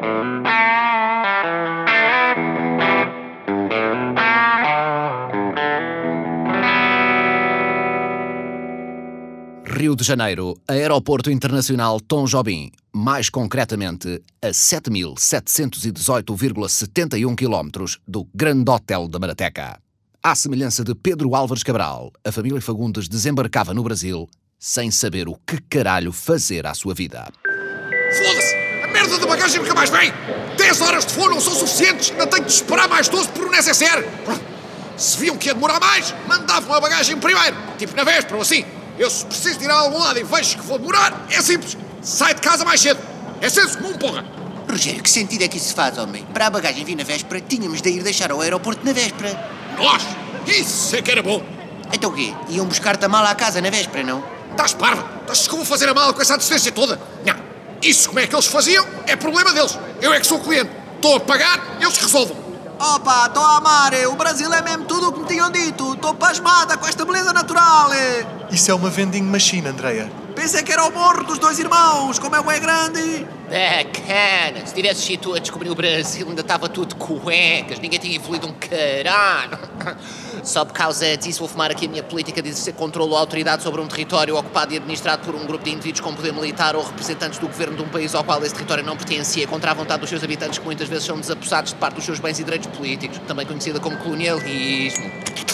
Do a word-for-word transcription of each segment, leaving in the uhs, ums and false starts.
Rio de Janeiro, Aeroporto Internacional Tom Jobim, mais concretamente a sete mil setecentos e dezoito vírgula setenta e um quilómetros do Grande Hotel da Marateca. À semelhança de Pedro Álvares Cabral, a família Fagundes desembarcava no Brasil sem saber o que caralho fazer à sua vida. Foda-se! A merda da bagagem nunca mais vem! dez horas de voo não são suficientes, ainda tenho de esperar mais doze por um necessaire! Se viam que ia demorar mais, mandavam a bagagem primeiro, tipo na véspera ou assim. Eu, se preciso de ir a algum lado e vejo que vou demorar, é simples. Sai de casa mais cedo. É senso comum, porra. Rogério, que sentido é que isso faz, homem? Para a bagagem vir na véspera, tínhamos de ir deixar ao aeroporto na véspera. Nós? Isso é que era bom. Então o quê? Iam buscar-te a mala à casa na véspera, não? Estás parva? Estás que eu vou fazer a mala com essa distância toda? Não. Isso como é que eles faziam é problema deles. Eu é que sou o cliente. Estou a pagar, eles resolvam. Opa, estou a amar, o Brasil é mesmo tudo o que me tinham dito. Estou pasmada com esta beleza natural. Isso é uma vending machine, Andreia. Pensei que era o morro dos dois irmãos, como é o é grande. Bacana, se tivesses sido tu a descobrir o Brasil ainda estava tudo de cuecas, ninguém tinha evoluído um caralho. Só por causa disso vou fumar aqui a minha política de exercer controle ou autoridade sobre um território ocupado e administrado por um grupo de indivíduos com poder militar ou representantes do governo de um país ao qual esse território não pertencia, contra a vontade dos seus habitantes, que muitas vezes são desapossados de parte dos seus bens e direitos políticos, também conhecida como colonialismo.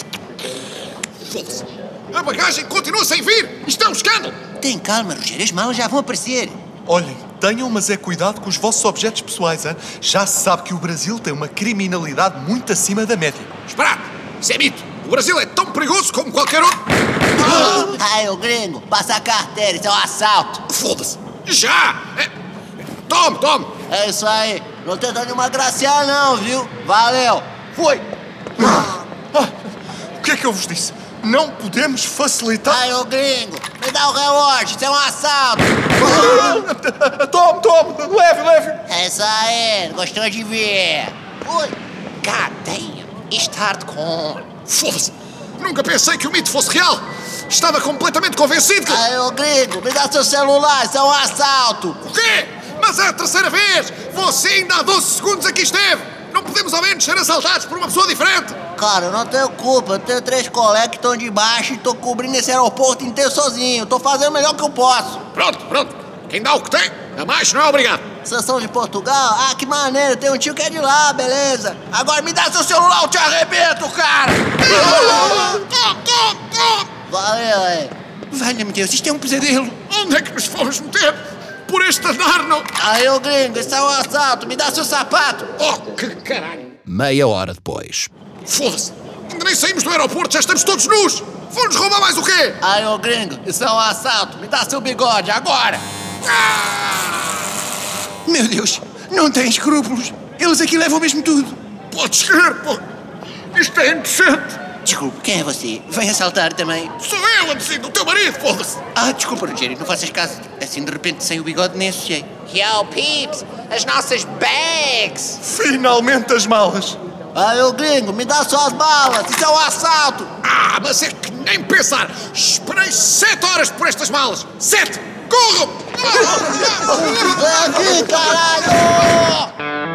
Foda-se! A bagagem continua sem vir! Isto é um escândalo! Tem calma, Rogério, as malas já vão aparecer. Olhem, tenham, mas é cuidado com os vossos objetos pessoais, hein? Já se sabe que o Brasil tem uma criminalidade muito acima da média. Esperado! Isso é mito! O Brasil é tão perigoso como qualquer outro! Ai, ô gringo, passa a carteira, isso é um assalto. Foda-se! Já! É... Tome, tome! É isso aí, não tenta nenhuma graciar não, viu? Valeu! Fui! Ah, o que é que eu vos disse? Não podemos facilitar... Ai, ô gringo, me dá o relógio, isso é um assalto! Tome, tome, leve, leve! É isso aí, gostou de ver? Fui! God damn, isto é hardcore. Foda-se! Nunca pensei que o mito fosse real! Estava completamente convencido que... Ai, ô gringo, me dá seu celular, isso é um assalto! O quê? Mas é a terceira vez! Você ainda há doze segundos aqui esteve! Não podemos ao menos ser assaltados por uma pessoa diferente! Cara, eu não tenho culpa, eu tenho três colegas que estão de baixo e tô cobrindo esse aeroporto inteiro sozinho. Tô fazendo o melhor que eu posso. Pronto, pronto. Quem dá o que tem, a mais não é obrigado. Vocês são de Portugal? Ah, que maneiro, tem um tio que é de lá, beleza. Agora me dá seu celular, eu te arrebento, cara! Valeu, aí. Valha-me Deus, isto é um pesadelo. Onde é que nos fomos meter? Por este andar, não... Aí, ô gringo, isso é um assalto, me dá seu sapato. Oh, que caralho. Meia hora depois. Foda-se! Ainda nem saímos do aeroporto, já estamos todos nus! Vão-nos roubar mais o quê? Aí, ô gringo, isso é um assalto, me dá seu bigode, agora! Ah! Meu Deus, não tem escrúpulos. Eles aqui levam mesmo tudo. Podes crer, pô! Isto é indecente! Desculpe, quem é você? Vem assaltar também? Sou eu, Andrezinho, o teu marido, foda-se! Ah, desculpa, Rogério, não faças caso. Assim, de repente, sem o bigode, nem associei. Yo, peeps, as nossas bags! Finalmente as malas! Aí, ô gringo, me dá suas balas, isso é um assalto! Ah, mas é que nem pensar! Esperei sete horas por estas malas! Sete! Corram! Vem aqui, caralho!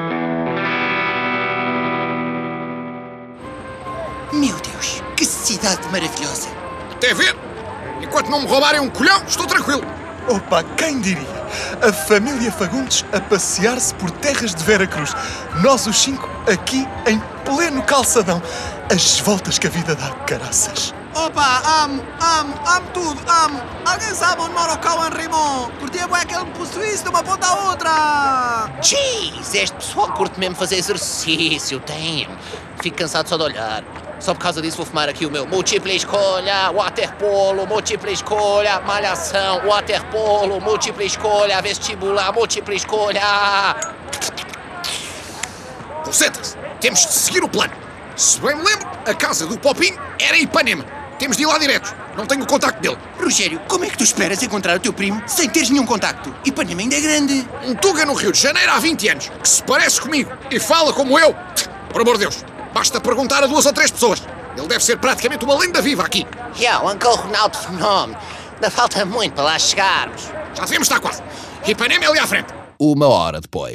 Meu Deus, que cidade maravilhosa! Até ver! Enquanto não me roubarem um colhão, estou tranquilo! Opa, quem diria? A família Fagundes a passear-se por terras de Veracruz. Nós os cinco aqui em pleno calçadão. As voltas que a vida dá, caraças. Opa, amo, amo, amo tudo, amo. Alguém sabe onde mora o Cauã Raymond? Curtia é que ele me possuísse de uma ponta à outra. Jeez, este pessoal curte mesmo fazer exercício, tem. Fico cansado só de olhar. Só por causa disso vou fumar aqui o meu múltipla escolha, waterpolo, múltipla escolha, malhação, waterpolo, múltipla escolha, vestibular, múltipla escolha. Concentra-se! Temos de seguir o plano. Se bem me lembro, a casa do Popinho era em Ipanema. Temos de ir lá diretos. Não tenho o contacto dele. Rogério, como é que tu esperas encontrar o teu primo sem teres nenhum contacto? Ipanema ainda é grande. Um tuga no Rio de Janeiro há vinte anos, que se parece comigo e fala como eu. Por amor de Deus, basta perguntar a duas ou três pessoas. Ele deve ser praticamente uma lenda viva aqui. Yo, Uncle Ronaldo Fenómeno. Ainda falta muito para lá chegarmos. Já devemos estar quase. Ipanema é ali à frente. Uma hora depois.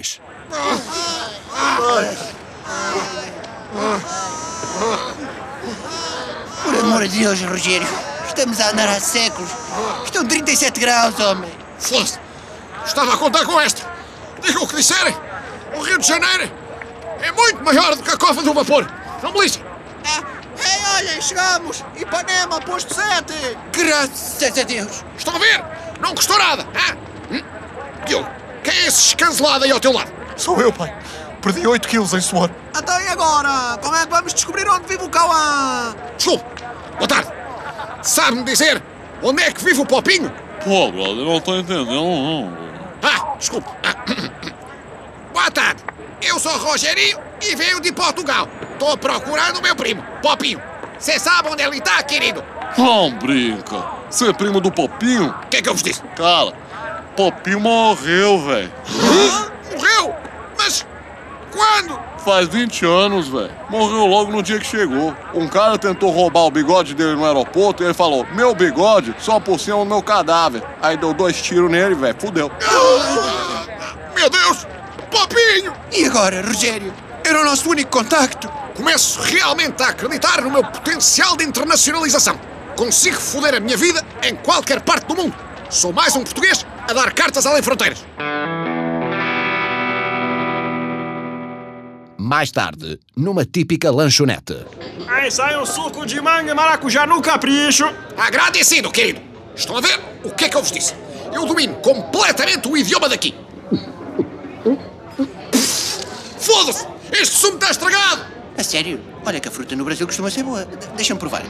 Por amor de Deus, Rogério. Estamos a andar há séculos. Estão trinta e sete graus, homem. Foda-se. Estava a contar com esta. Digam o que disserem. O Rio de Janeiro é muito maior do que a cova do vapor. Não me lixem. Ah, ei, olhem, chegamos! Ipanema, posto sete! Graças a Deus. Estão a ver? Não custou nada. Ah? Hum? Diogo, quem é esse escancelado aí ao teu lado? Sou eu, pai. Perdi oito quilos em suor. Então e agora? Como é que vamos descobrir onde vive o Cauã? Desculpe. Boa tarde. Sabe-me dizer onde é que vive o Popinho? Pô, brother, não tô entendendo, não. Ah, desculpe. Ah, boa tarde. Eu sou Rogerinho e venho de Portugal. Estou procurando o meu primo, Popinho. Você sabe onde ele está, querido? Não brinca. Você é primo do Popinho? O que é que eu vos disse? Cara, Popinho morreu, velho. Hã? Morreu? Mas quando? Faz vinte anos, velho. Morreu logo no dia que chegou. Um cara tentou roubar o bigode dele no aeroporto e ele falou: meu bigode só por cima do meu cadáver. Aí deu dois tiros nele, velho. Fudeu. Ah, meu Deus! Popinho! E agora, Rogério? Era o nosso único contacto. Começo realmente a acreditar no meu potencial de internacionalização. Consigo foder a minha vida em qualquer parte do mundo. Sou mais um português a dar cartas além fronteiras. Mais tarde, numa típica lanchonete. Aí sai um suco de manga e maracujá no capricho. Agradecido, querido. Estão a ver o que é que eu vos disse? Eu domino completamente o idioma daqui. Foda-se! Este sumo está estragado! A sério? Olha que a fruta no Brasil costuma ser boa. De- Deixa-me provar.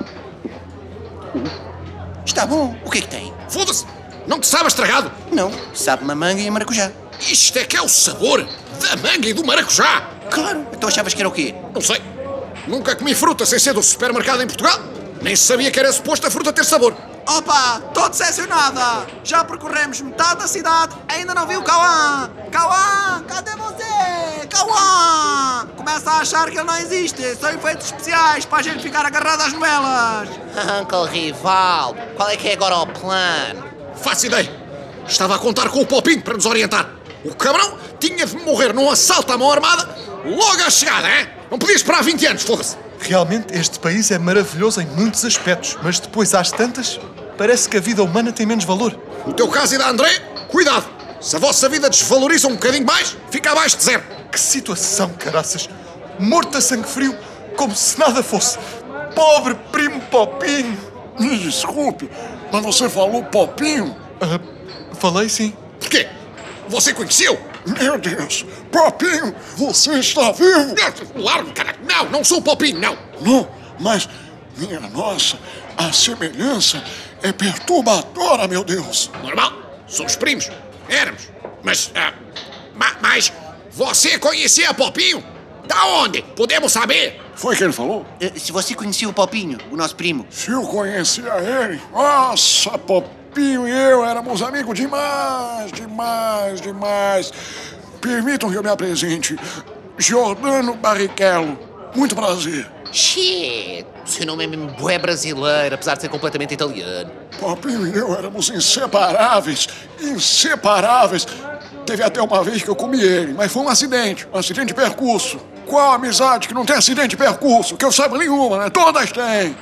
Está bom. O que é que tem? Foda-se! Não te sabe estragado? Não, sabe-me a manga e a maracujá. Isto é que é o sabor da manga e do maracujá! Claro. Então achavas que era o quê? Não sei. Nunca comi fruta sem ser do supermercado em Portugal. Nem sabia que era suposto a fruta ter sabor. Opa, estou decepcionada! Já percorremos metade da cidade, ainda não vi o Cauã! Cauã, cadê você? Cauã! Começa a achar que ele não existe, são efeitos especiais para a gente ficar agarrado às novelas! Uncle Rival, qual é que é agora o plano? Faço ideia. Estava a contar com o Popinho para nos orientar. O cabrão tinha de morrer num assalto à mão armada logo à chegada, hein? Não podia esperar vinte anos, foda-se. Realmente, este país é maravilhoso em muitos aspectos, mas depois, às tantas, parece que a vida humana tem menos valor. No teu caso e da André, cuidado. Se a vossa vida desvaloriza um bocadinho mais, fica abaixo de zero. Que situação, caraças! Morto a sangue frio, como se nada fosse. Pobre primo Popinho! Me desculpe, mas você falou Popinho? Ah, falei sim. Porquê? Você conheceu? Meu Deus! Popinho, você está vivo? Largo, caralho. Não, não sou o Popinho, não. Não, mas, minha nossa, a semelhança é perturbadora, meu Deus. Normal. Somos primos. Éramos. Mas, ah, ma- mas, você conhecia Popinho? Da onde? Podemos saber? Foi o que ele falou? Eh, Se você conhecia o Popinho, o nosso primo. Se eu conhecia ele, nossa, Popinho e eu éramos amigos demais, demais, demais. Permitam que eu me apresente. Giordano Barrichello. Muito prazer. Shit, seu nome é mesmo bué brasileiro, apesar de ser completamente italiano. Popinho e eu éramos inseparáveis, inseparáveis. Teve até uma vez que eu comi ele, mas foi um acidente, um acidente de percurso. Qual amizade que não tem acidente de percurso? Que eu saiba nenhuma, né? Todas têm.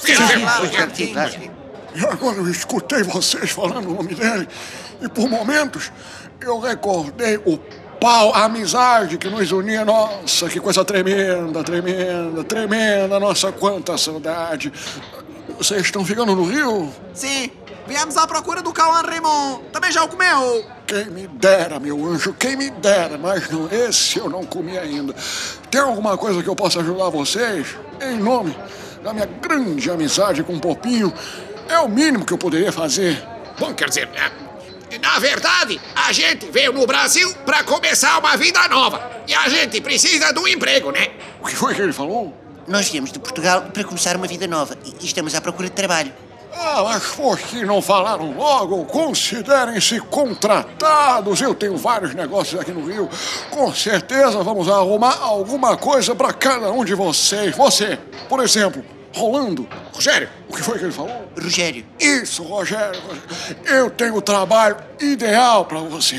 Sim, claro. E agora eu escutei vocês falando o nome dele e por momentos eu recordei o pau, a amizade que nos unia. Nossa, que coisa tremenda, tremenda, tremenda. Nossa, quanta saudade. Vocês estão ficando no Rio? Sim, viemos à procura do Cauã Raymond. Também já o comeu? Quem me dera, meu anjo, quem me dera, mas não, esse eu não comi ainda. Tem alguma coisa que eu possa ajudar vocês? Em nome da minha grande amizade com o Popinho, é o mínimo que eu poderia fazer. Bom, quer dizer, é, na verdade, a gente veio no Brasil para começar uma vida nova. E a gente precisa de um emprego, né? O que foi que ele falou? Nós viemos de Portugal para começar uma vida nova e e estamos à procura de trabalho. Ah, mas por que não falaram logo? Considerem-se contratados. Eu tenho vários negócios aqui no Rio. Com certeza vamos arrumar alguma coisa para cada um de vocês. Você, por exemplo, Rolando. Rogério, O que foi que ele falou? Rogério, Isso, Rogério. Eu tenho o trabalho ideal para você.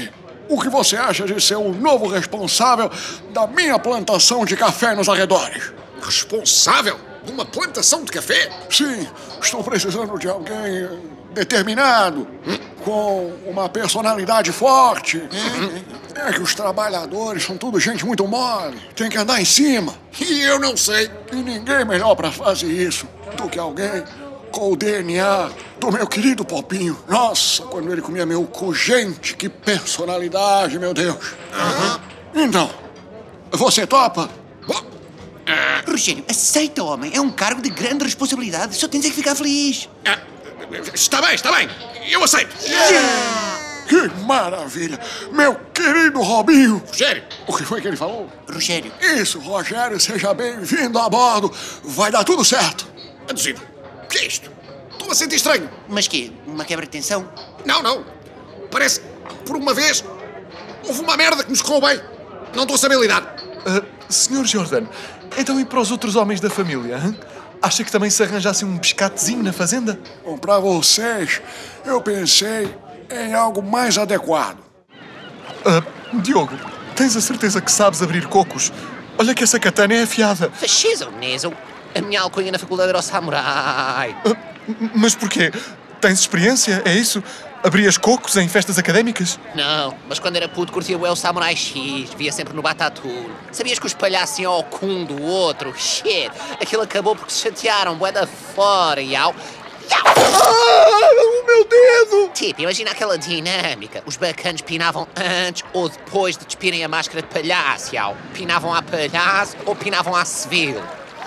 o que você acha de ser o novo responsável da minha plantação de café nos arredores? Responsável de uma plantação de café? Sim, estou precisando de alguém determinado, hum? com uma personalidade forte. Hum? É que os trabalhadores são tudo gente muito mole, tem que andar em cima. E eu não sei. E ninguém melhor pra fazer isso do que alguém com o D N A do meu querido Popinho. Nossa, quando ele comia meu cu, gente, que personalidade, meu Deus. Uhum. Então, você topa? Rogério, aceita, homem. É um cargo de grande responsabilidade. Só tens é que ficar feliz. Ah, está bem, está bem. Eu aceito. Yeah! Que maravilha! Meu querido Robinho! Rogério! O que foi que ele falou? Rogério. Isso, Rogério, seja bem-vindo a bordo. Vai dar tudo certo. Aduzido. O que é isto? Estou a sentir estranho. Mas quê? Uma quebra de tensão? Não, não. Parece que, por uma vez, houve uma merda que nos correu bem. Não estou a saber lidar. Uh, senhor Jordan, então e para os outros homens da família? Hein? Acha que também se arranjasse um pescatezinho na fazenda? Bom, para vocês, eu pensei em algo mais adequado. Uh, Diogo, tens a certeza que sabes abrir cocos? Olha que essa katana é afiada. Fascismo, Neso. A minha alcunha na faculdade era o samurai. Uh, mas porquê? Tens experiência? É isso? Abrias cocos em festas académicas? Não, mas quando era puto curtia o Samurai X, via sempre no Batatu. Sabias que os palhaços iam ao cum do outro? Shit, aquilo acabou porque se chatearam, bué da fora, iau. Ah, o meu dedo! Tipo, imagina aquela dinâmica. Os bacanos pinavam antes ou depois de despirem a máscara de palhaço, iau. Pinavam a palhaço ou pinavam a civil.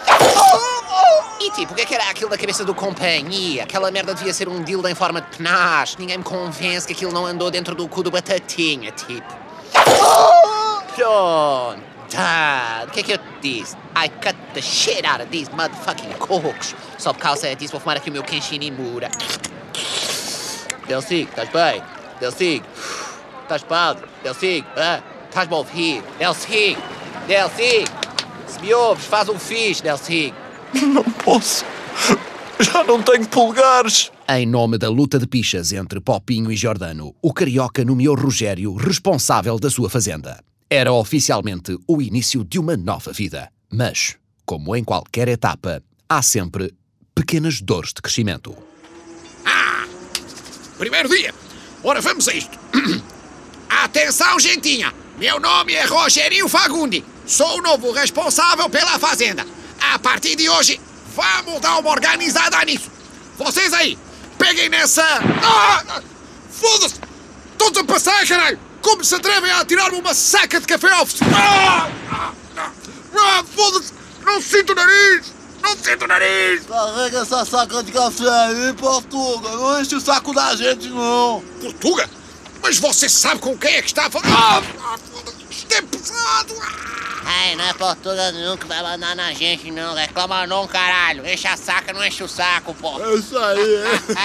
E tipo, o que é que era aquilo da cabeça do companhia? Aquela merda devia ser um dildo em forma de penache. Ninguém me convence que aquilo não andou dentro do cu do Batatinha, tipo. Pronto. Dad, o que é que eu te disse? I cut the shit out of these motherfucking cocos. Só por causa disso vou fumar aqui o meu Kenshin Imura. Delcig, estás bem? Delcig, estás pálido? Delcig, ah, estás-me a ouvir? Delcig, Delcig, se me ouves, faz um fixe, Delcig. Não posso. Já não tenho polegares. Em nome da luta de pichas entre Popinho e Giordano, o carioca nomeou Rogério responsável da sua fazenda. Era oficialmente o início de uma nova vida. Mas, como em qualquer etapa, há sempre pequenas dores de crescimento. Ah! Primeiro dia. Ora, vamos a isto. Atenção, gentinha. Meu nome é Rogerinho Fagundi. Sou o novo responsável pela fazenda. A partir de hoje, vamos dar uma organizada nisso. Vocês aí, peguem nessa... Ah! Foda-se! Todos a passar, caralho! Como se atrevem a atirar-me uma saca de café ao... Ah! Ah! Ah! Foda-se! Não sinto o nariz! Não sinto o nariz! Carrega essa saca de café aí, Portuga. Não enche o saco da gente, não. Portuga? Mas você sabe com quem é que está a falar? Ah! Ah! Foda-se! Isto é pesado! Ah! Ai, não é Portuga não que vai mandar na gente, não. Reclama não, caralho. Enche a saca, não enche o saco, pô. É isso aí.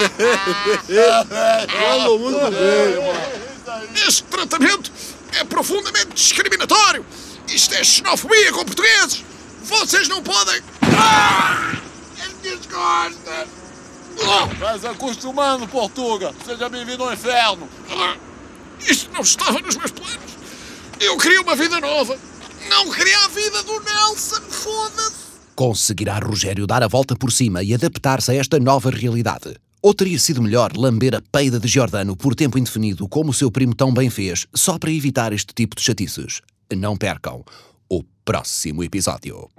Falou muito bem, mano. Este tratamento é profundamente discriminatório. Isto é xenofobia com portugueses. Vocês não podem... Ah! As minhas costas! Ah! Vai se acostumando, Portuga. Seja bem-vindo ao inferno. Ah! Isto não estava nos meus planos. Eu queria uma vida nova. Não queria a vida do Nelson, foda-se! Conseguirá Rogério dar a volta por cima e adaptar-se a esta nova realidade? Ou teria sido melhor lamber a peida de Giordano por tempo indefinido, como o seu primo tão bem fez, só para evitar este tipo de chatices? Não percam o próximo episódio.